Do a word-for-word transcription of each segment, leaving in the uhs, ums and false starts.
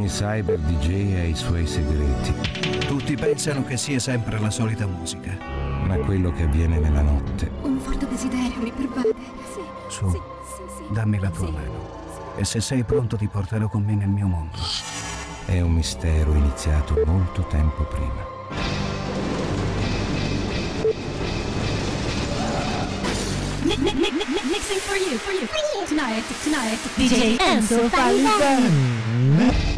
Ogni cyber D J ha i suoi segreti. Tutti pensano che sia sempre la solita musica. Ma quello che avviene nella notte... Un forte desiderio mi pervade. Sì. Su, sì, sì, sì. dammi la tua sì. mano. E se sei pronto ti porterò con me nel mio mondo. È un mistero iniziato molto tempo prima. Mixing for you, for you, for you. Tonight, tonight, D J Enzo Falivene.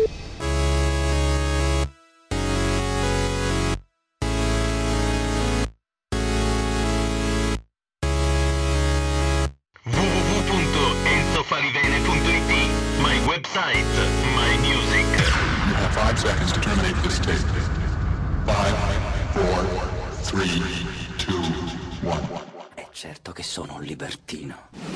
w w w punto enzo falivene punto i t, my website, my music. You have five seconds to terminate this tape. Five, four, three, two, one. È certo che sono un libertino.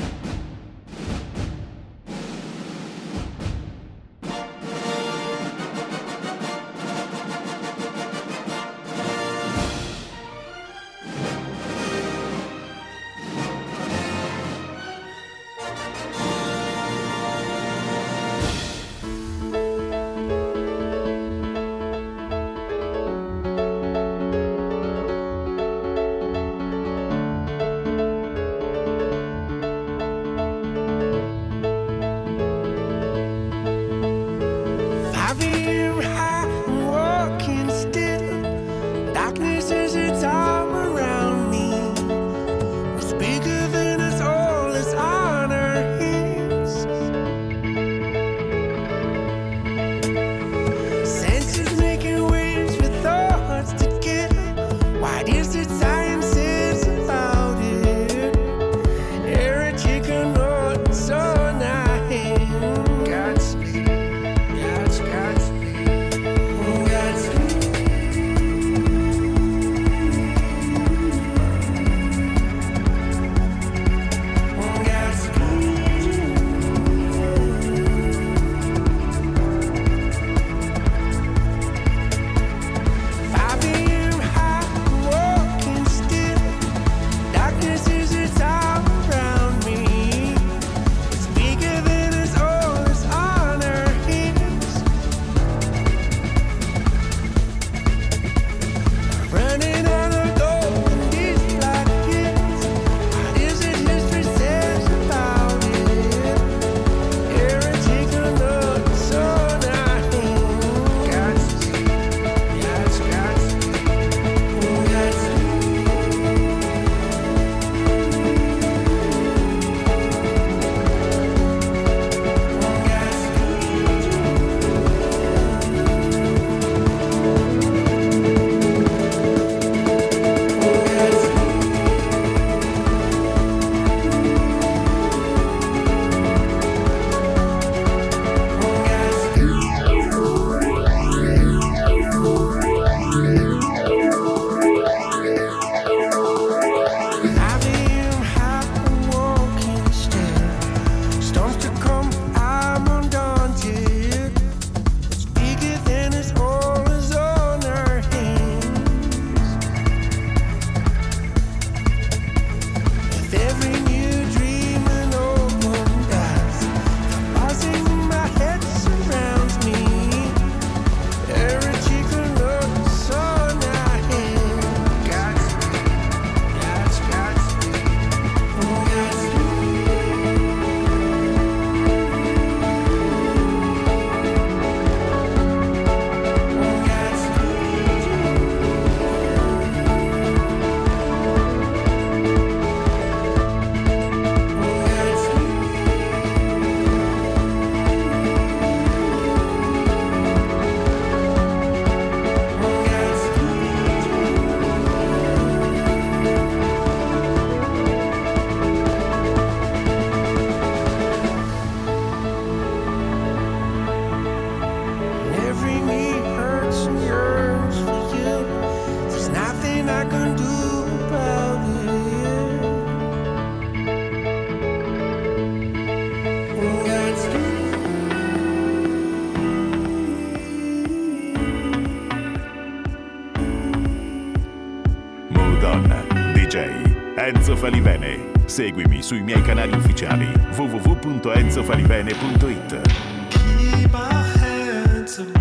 Enzo Falivene. Seguimi sui miei canali ufficiali w w w punto enzo falivene punto i t. Keep our hands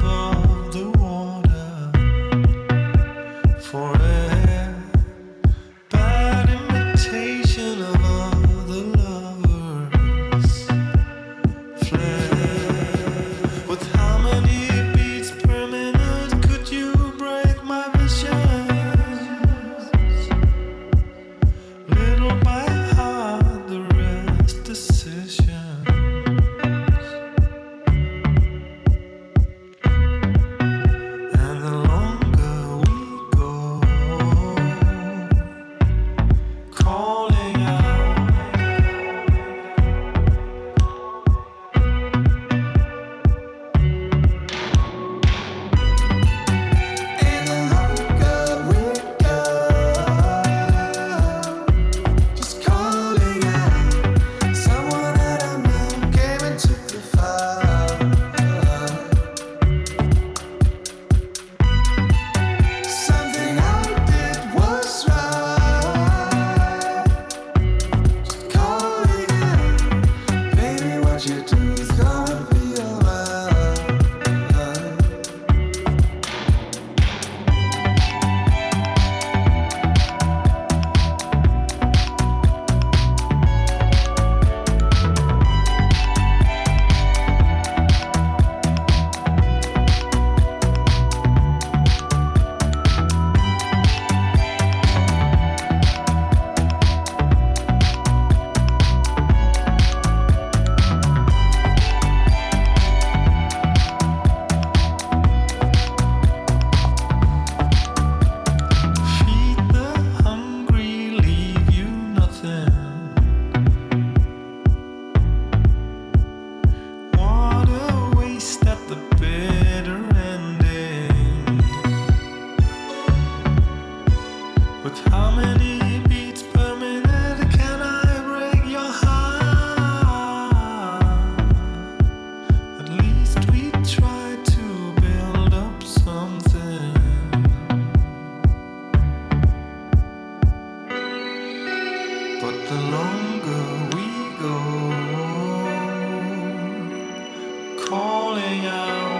calling out.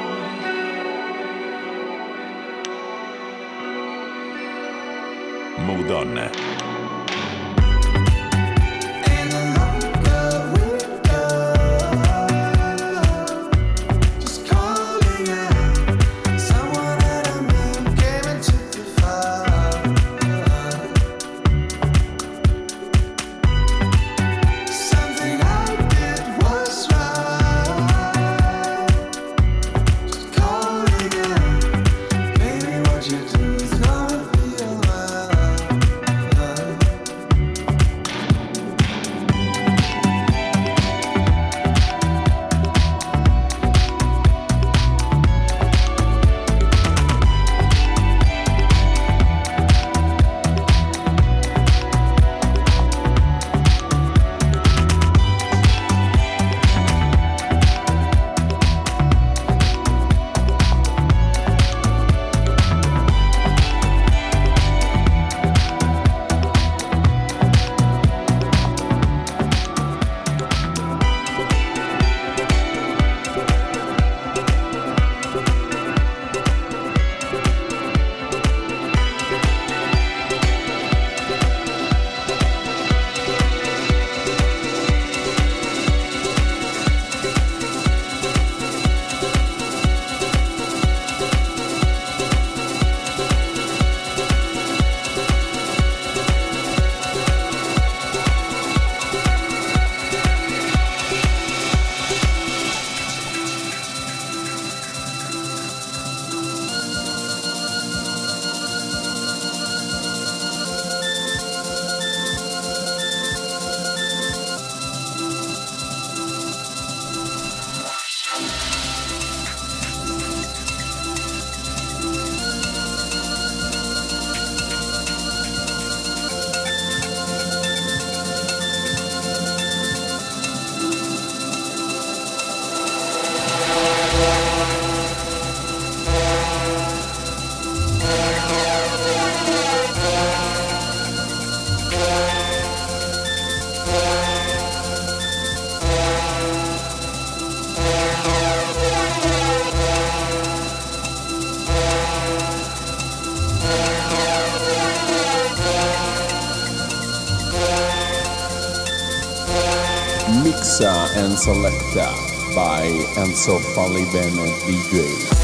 Mood On. Mixa and Selecta by Enzo Falliven D J.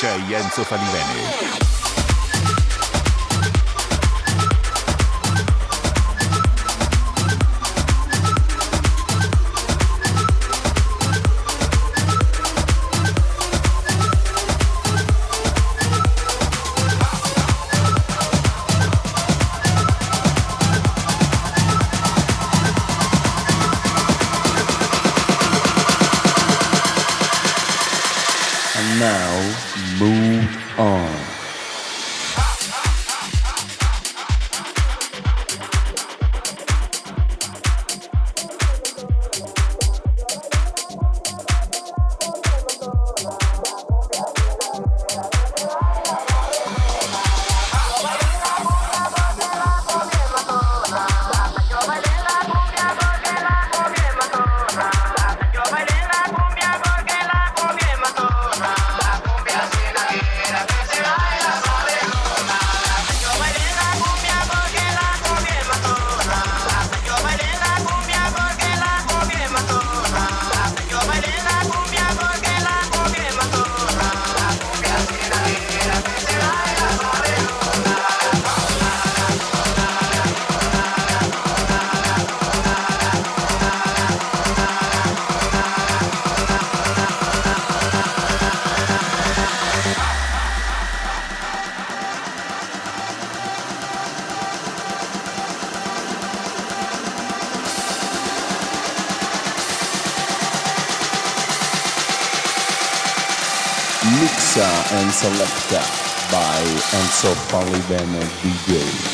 Enzo Falivene. Now, move on. Mixa and Selecta by Enzo Falivene D J.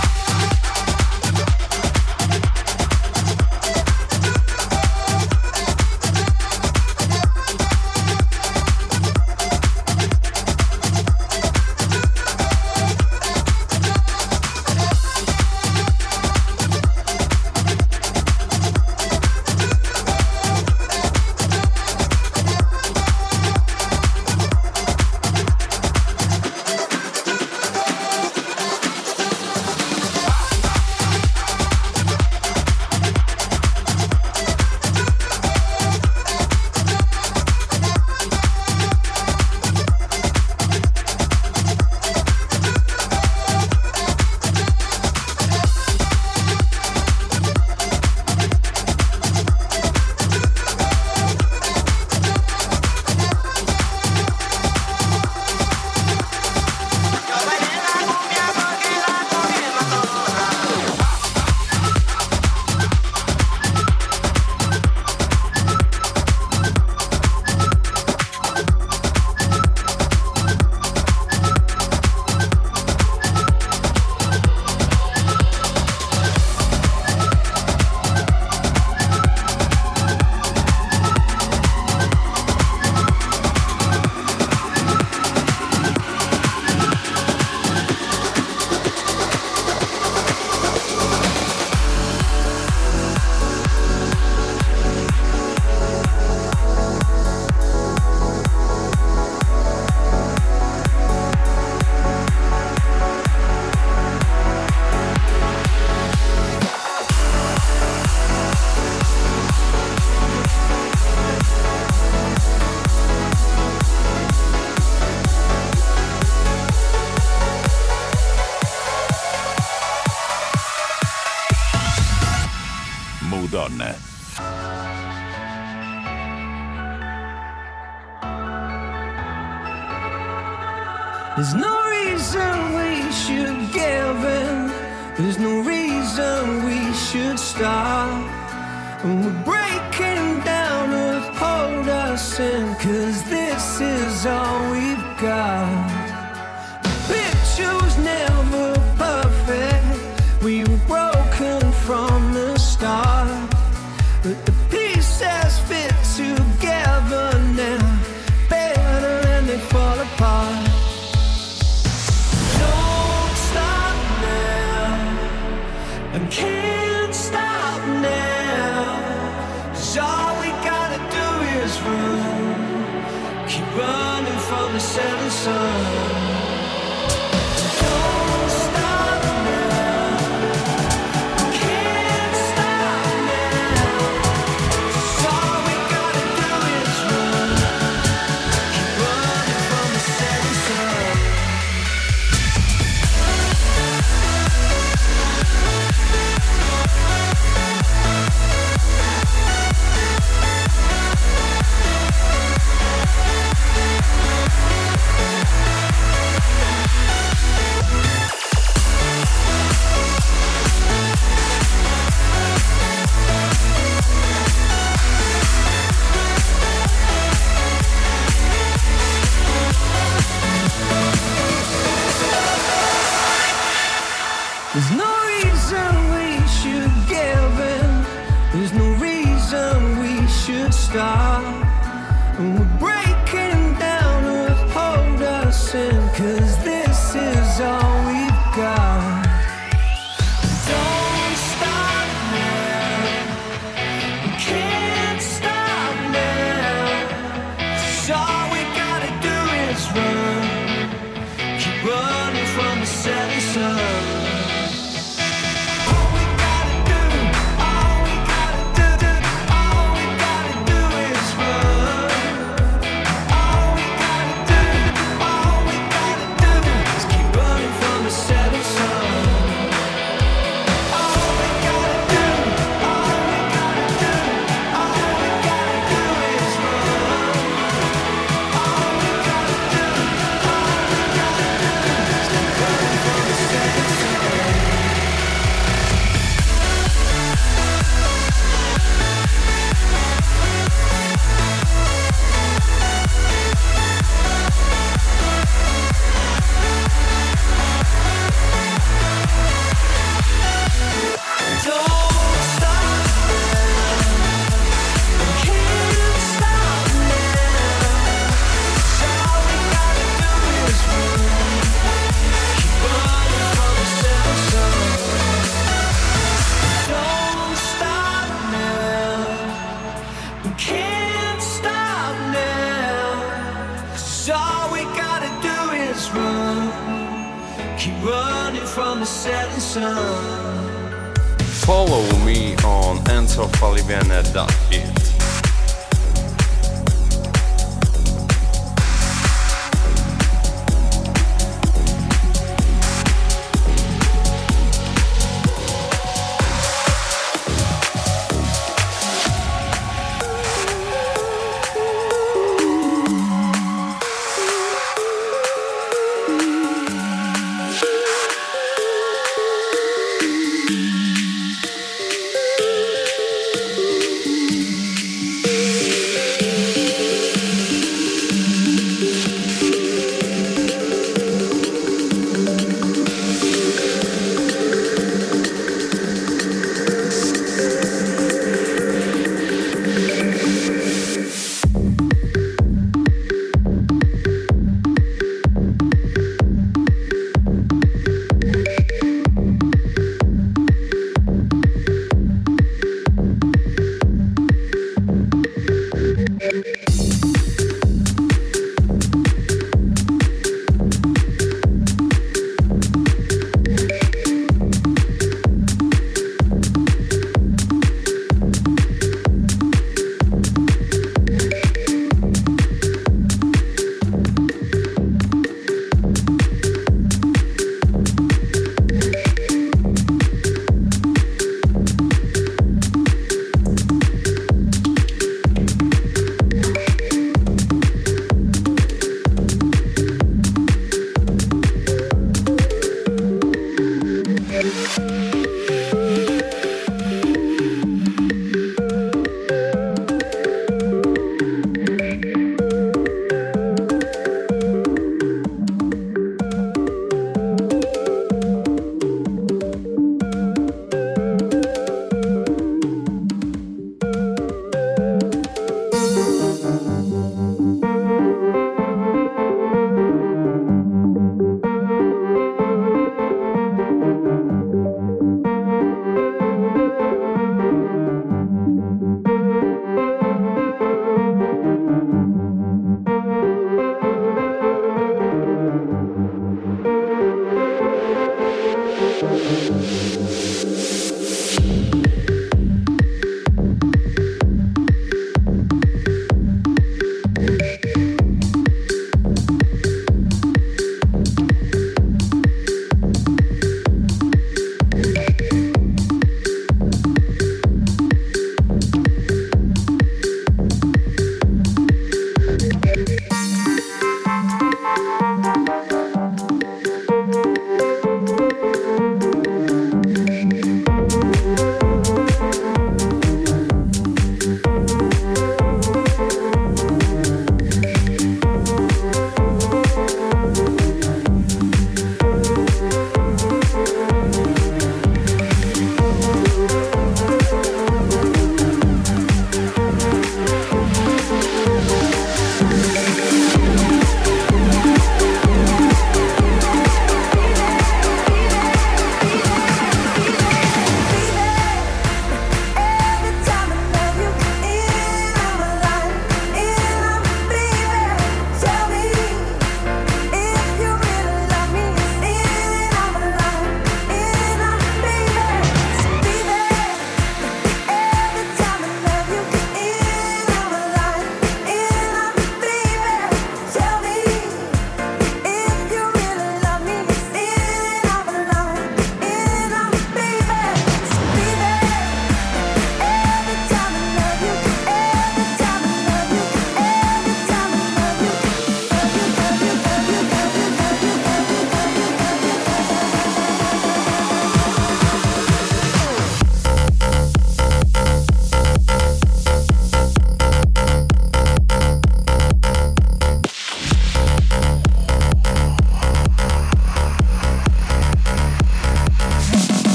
Move On. There's no reason we should give in. There's no reason we should stop. And we're breaking down to hold us in, 'cause this is all we've got. The picture was never perfect. We were broken from the start, but the pieces fit together now, better than they fall apart. Don't stop now, and can't stop now, 'cause all we gotta do is run, keep running from the setting sun. Setting stop. And we're breaking down to hold us in, 'cause this is all we've got. Don't stop now, we can't stop now. So all we gotta do is run, keep running from the setting sun. Follow me on enzo falivene dot it.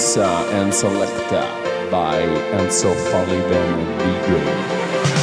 Mixa and Selecta by Enzo Falivene D J.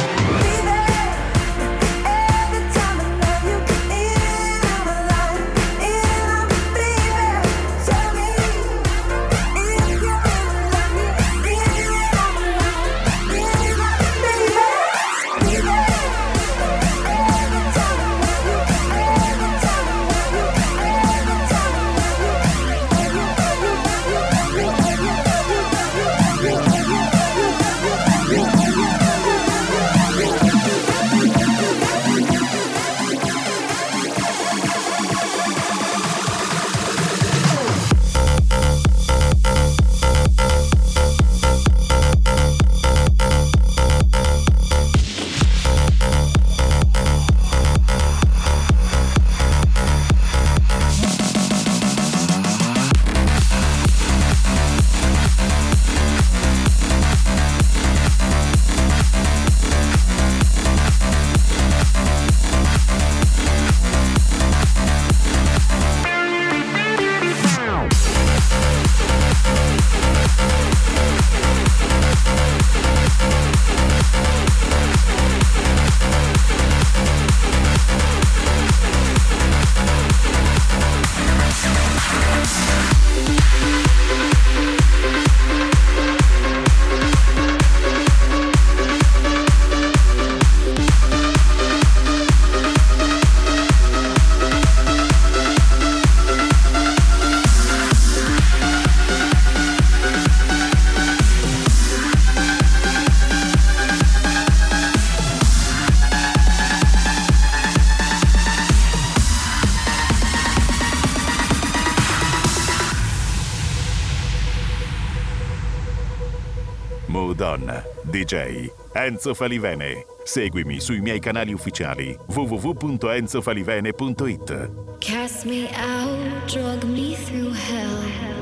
Moodon, D J Enzo Falivene. Seguimi sui miei canali ufficiali w w w punto enzo falivene punto it. Cast me out, drug me through hell.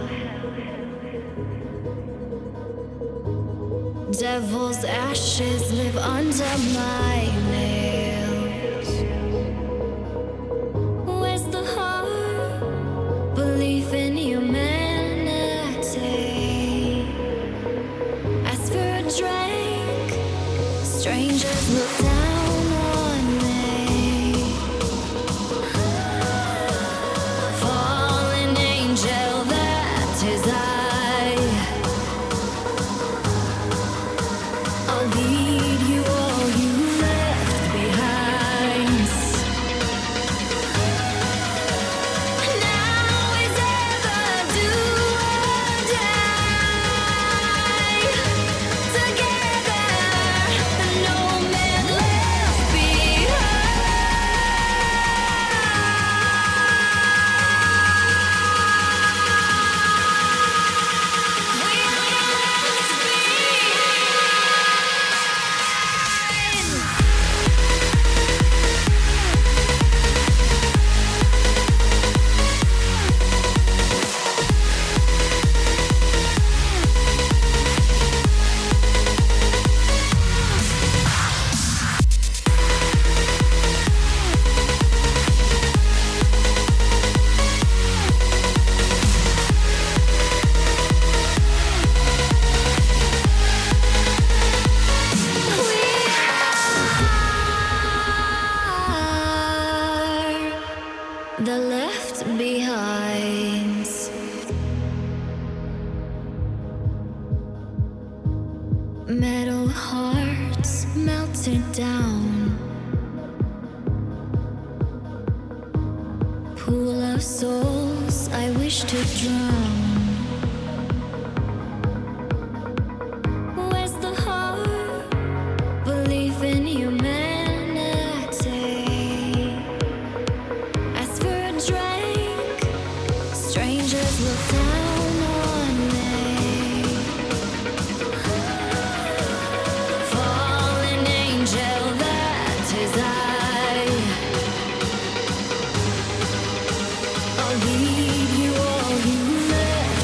Devil's ashes live under my nails. Where's the heart? Belief in humanity. Ask for a drink. Strangers look down on me. Fallen angel, that is I. I'll lead you all you left behind. Now is ever do or die. Together, no man left behind. We are left the left behind. Metal hearts melted down. Pool of souls I wish to drown. Where's the heart? Belief in humanity. Ask for a drink. Strangers look down on me. Fallen angel, that is I. I'll lead you all you left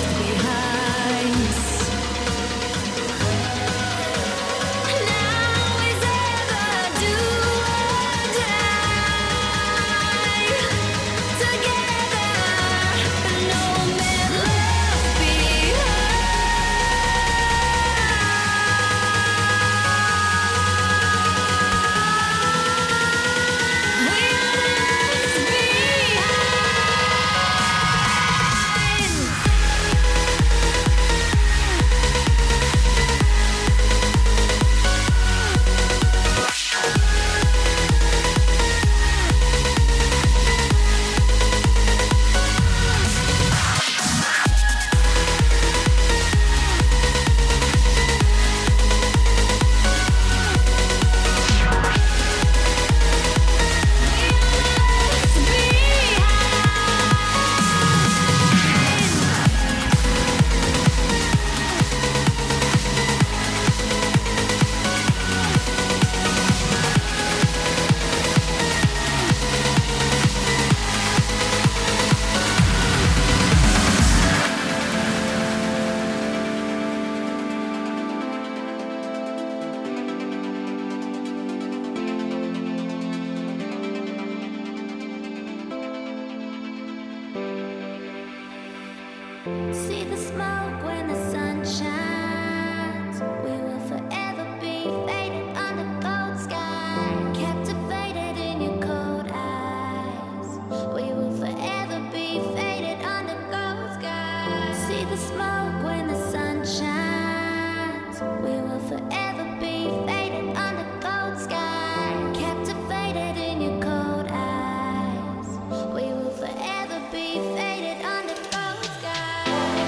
See the smoke when the sun shines. We will forever be faded under cold sky, captivated in your cold eyes. We will forever be faded under cold sky. See the smoke when the sun shines. We will forever be faded under cold sky, captivated in your cold eyes. We will forever be faded under cold sky.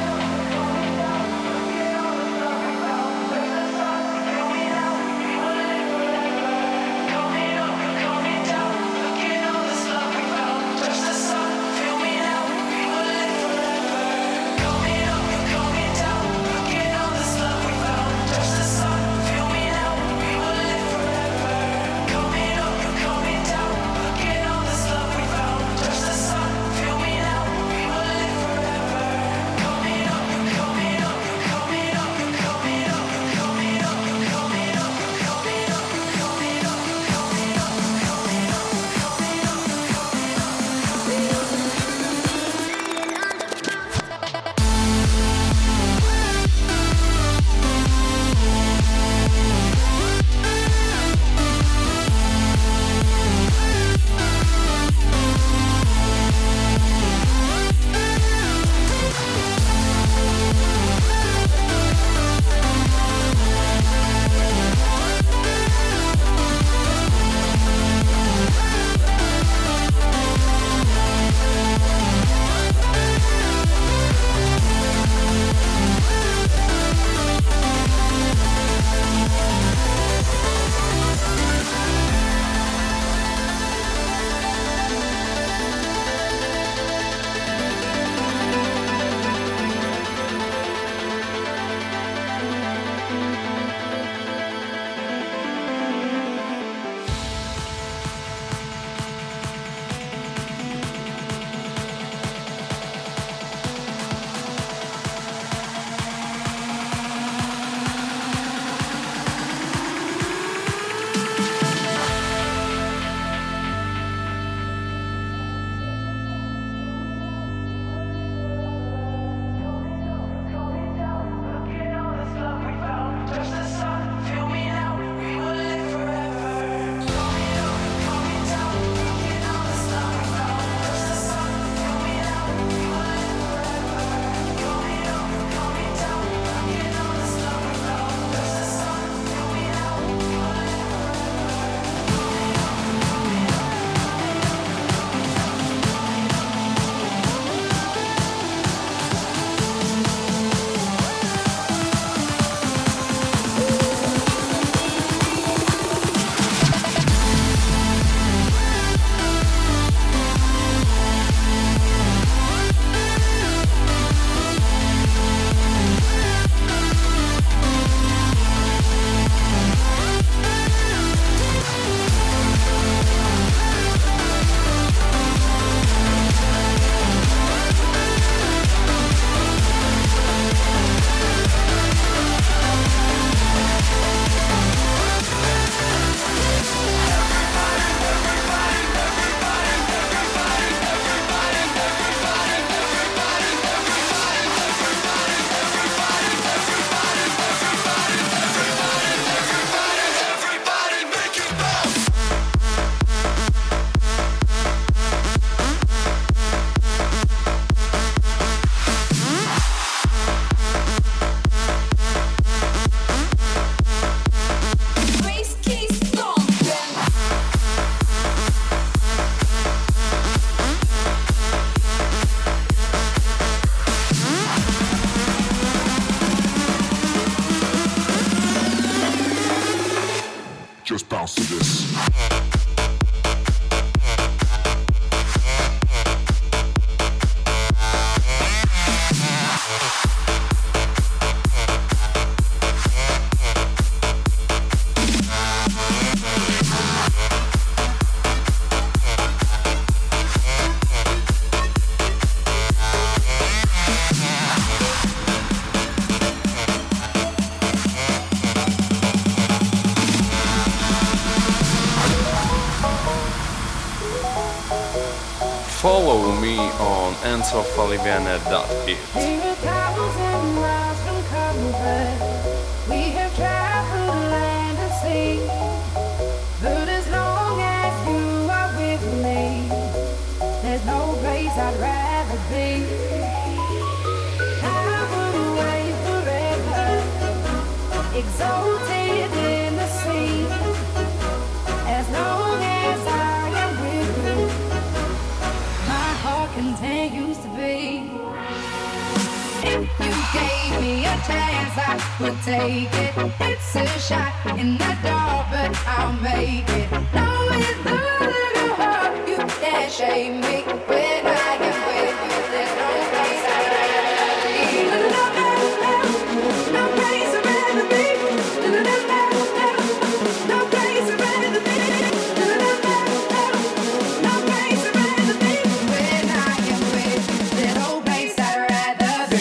Just bounce to this. Follow me on enzo falivene dot it. We're a thousand miles from comfort. We have traveled land and sea. But as long as you are with me, there's no place I'd rather be. I would away forever, exalted in the sea. As long as I am with you, my heart continues to beat. If you gave me a chance, I would take it. It's a shot in the dark, but I'll make it. Knowing the little heart, you can't shame me. When I am with you, there's no place I'd rather be. No, no, no, no place I'd rather be. No, no, no, no, no place I'd rather be. No, no, no, no, no place I'd rather be. When I am with you, there's no place I'd rather be.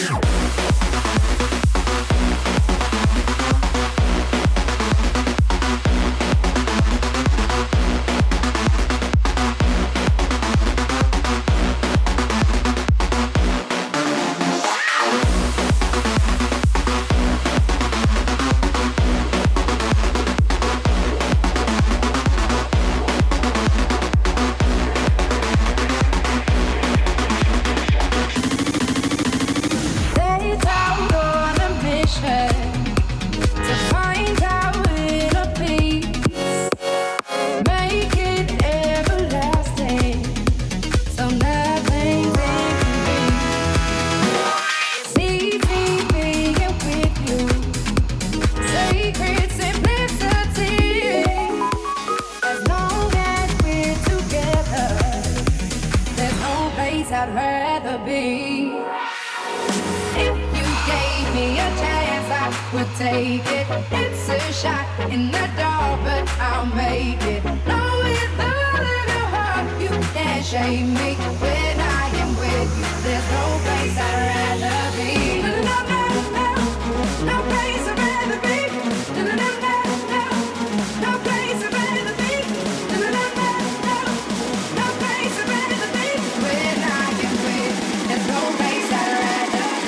Set out on a mission to find our inner peace, make it everlasting, so nothing's incomplete. See me being with you, sacred simplicity. As long as we're together, there's no place I'd rather be. If you gave me a chance, I would take it. It's a shot in the dark, but I'll make it. Knowing the little heart, you can't shame me. When I am with you, there's no place I'd rather be. No, no, no, no, no place I'd rather be. No, no, no, no, no, no place I'd rather be. No, no, no, no, no, no place I'd rather be. When I am with you, there's no place I'd rather be.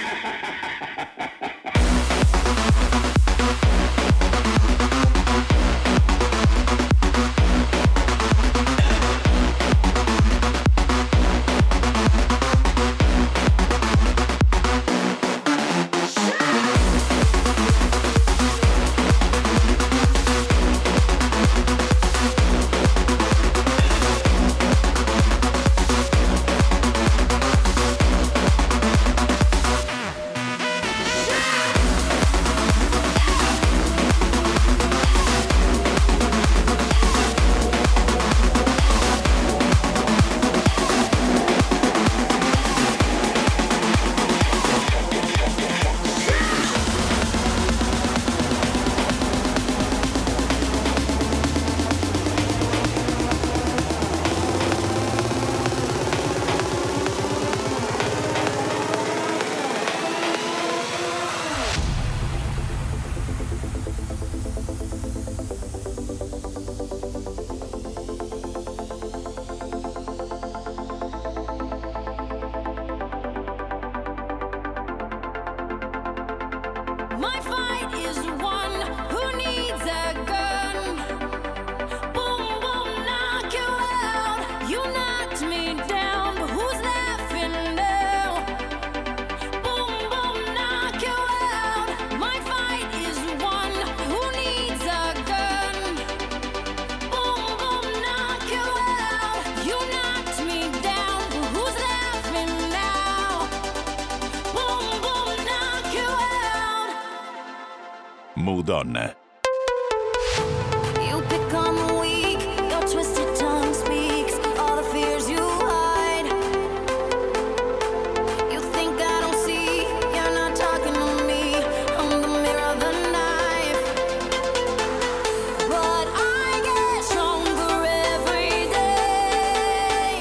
My fight is one who needs a gun. Boom, boom, knock you out. You knocked me down, but who's laughing now? Boom, boom, knock you out. My fight is one who needs a gun. Boom, boom, knock you out. You knocked me down, but who's laughing now? Boom, boom, knock you out. Mood On. You pick on the weak, your twisted tongue speaks all the fears you hide. You think I don't see, you're not talking to me. I'm the mirror, the knife. But I get stronger every day.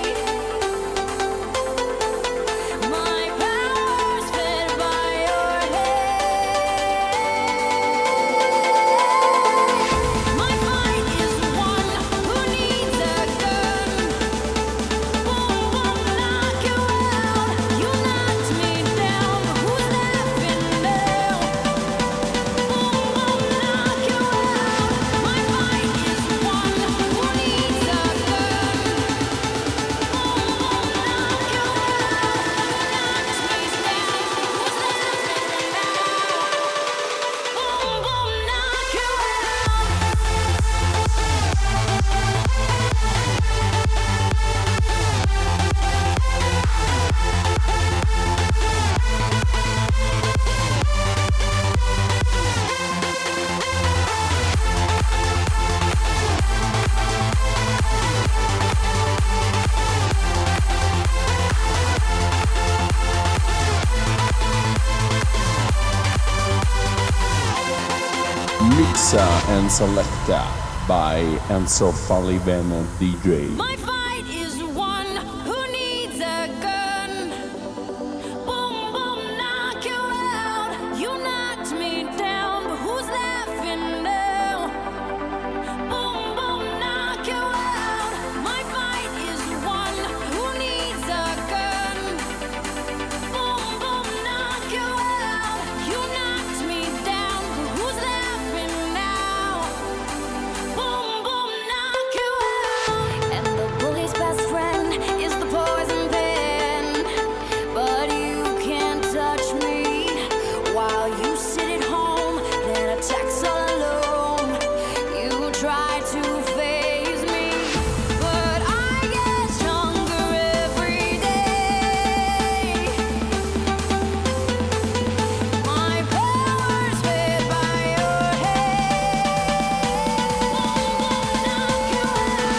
My power's fed by your head. and selected by Enzo Falivene D J. My fight is one who needs a gun. Boom, boom, knock you out. You knocked me down, but who's laughing now? Boom, boom, knock you out. My fight is one who needs a gun. Boom, boom, knock you out. You knocked me down, but who's laughing now? Boom, boom, knock you out. And the bully's best friend is the poison pen. But you can't touch me while you sit at home, then attacks all alone. You try to phase me, but I get stronger every day. My power's fed by your head. Knock you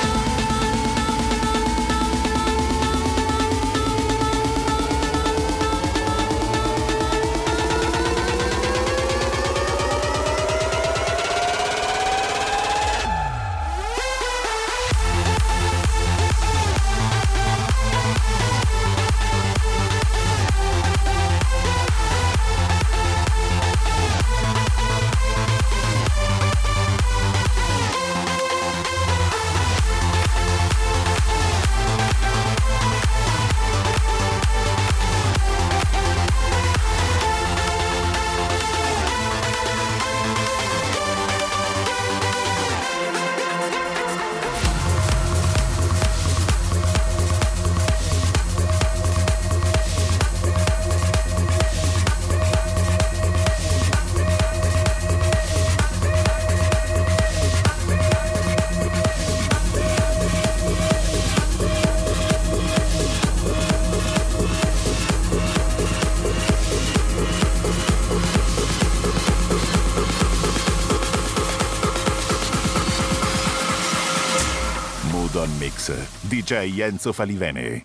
Mood on Mix, D J Enzo Falivene.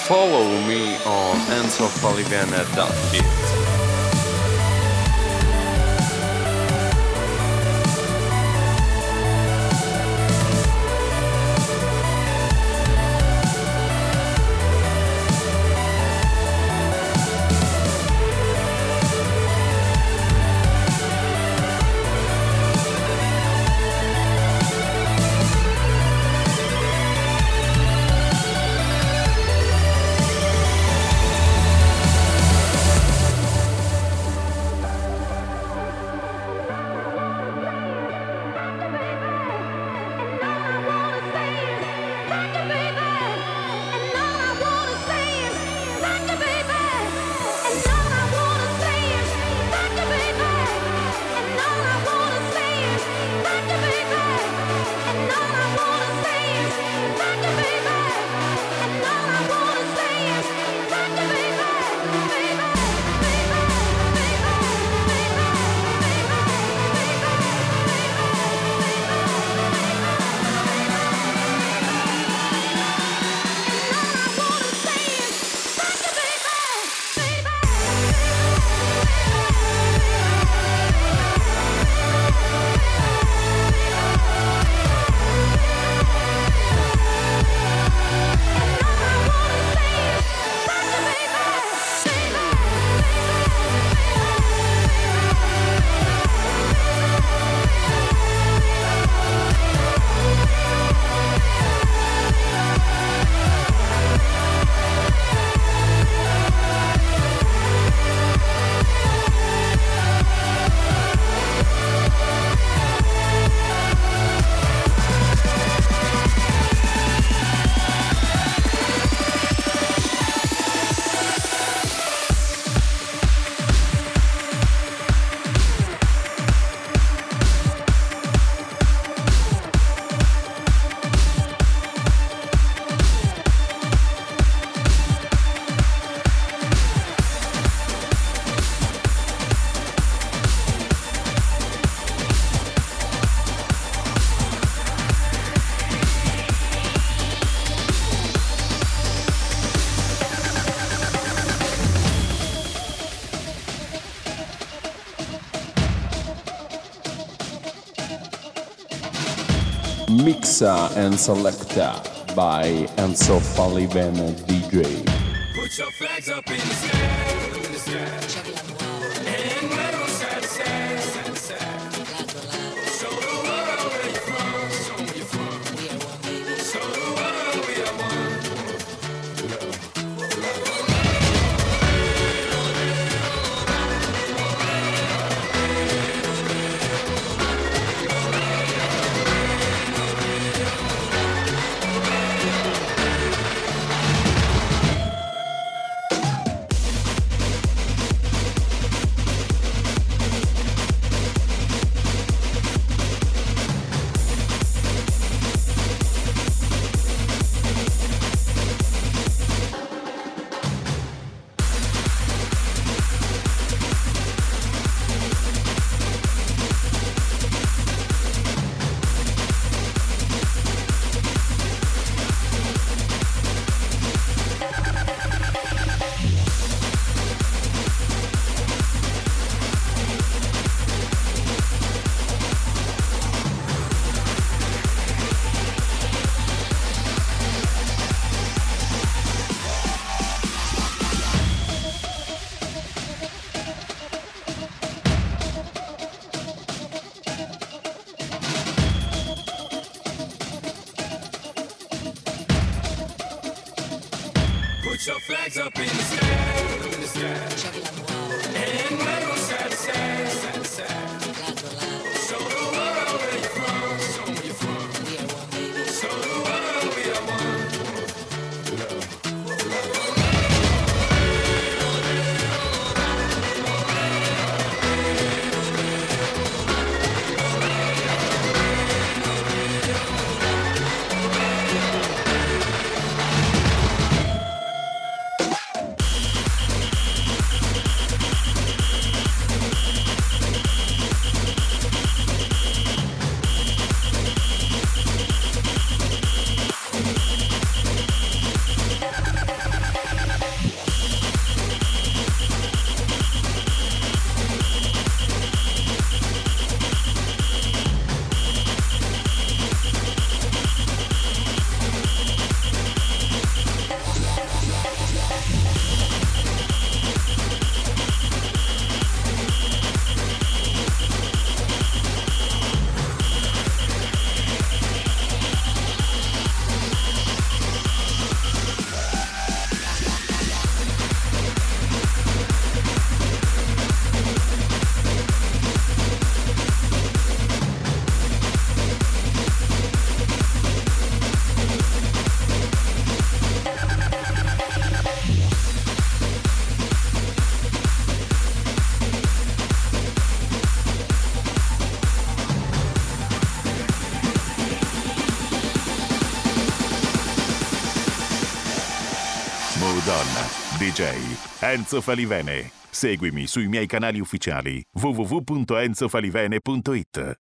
follow me on enzo falivene dot it. Mixa and Selecta by Enzo Falivene D J. Put your flags up in the sky, in the sky. And wave on side to side, side to side. Show the world where you're from, show where you're from. We are one, baby. Show the world we are one. Put your flags up in the sky, in the sky. And wave on side to side, side to side. Show the world where you're from, show where you're from. We are one, baby. Show the world we are one. Don, D J Enzo Falivene. Seguimi sui miei canali ufficiali w w w punto enzo falivene punto it.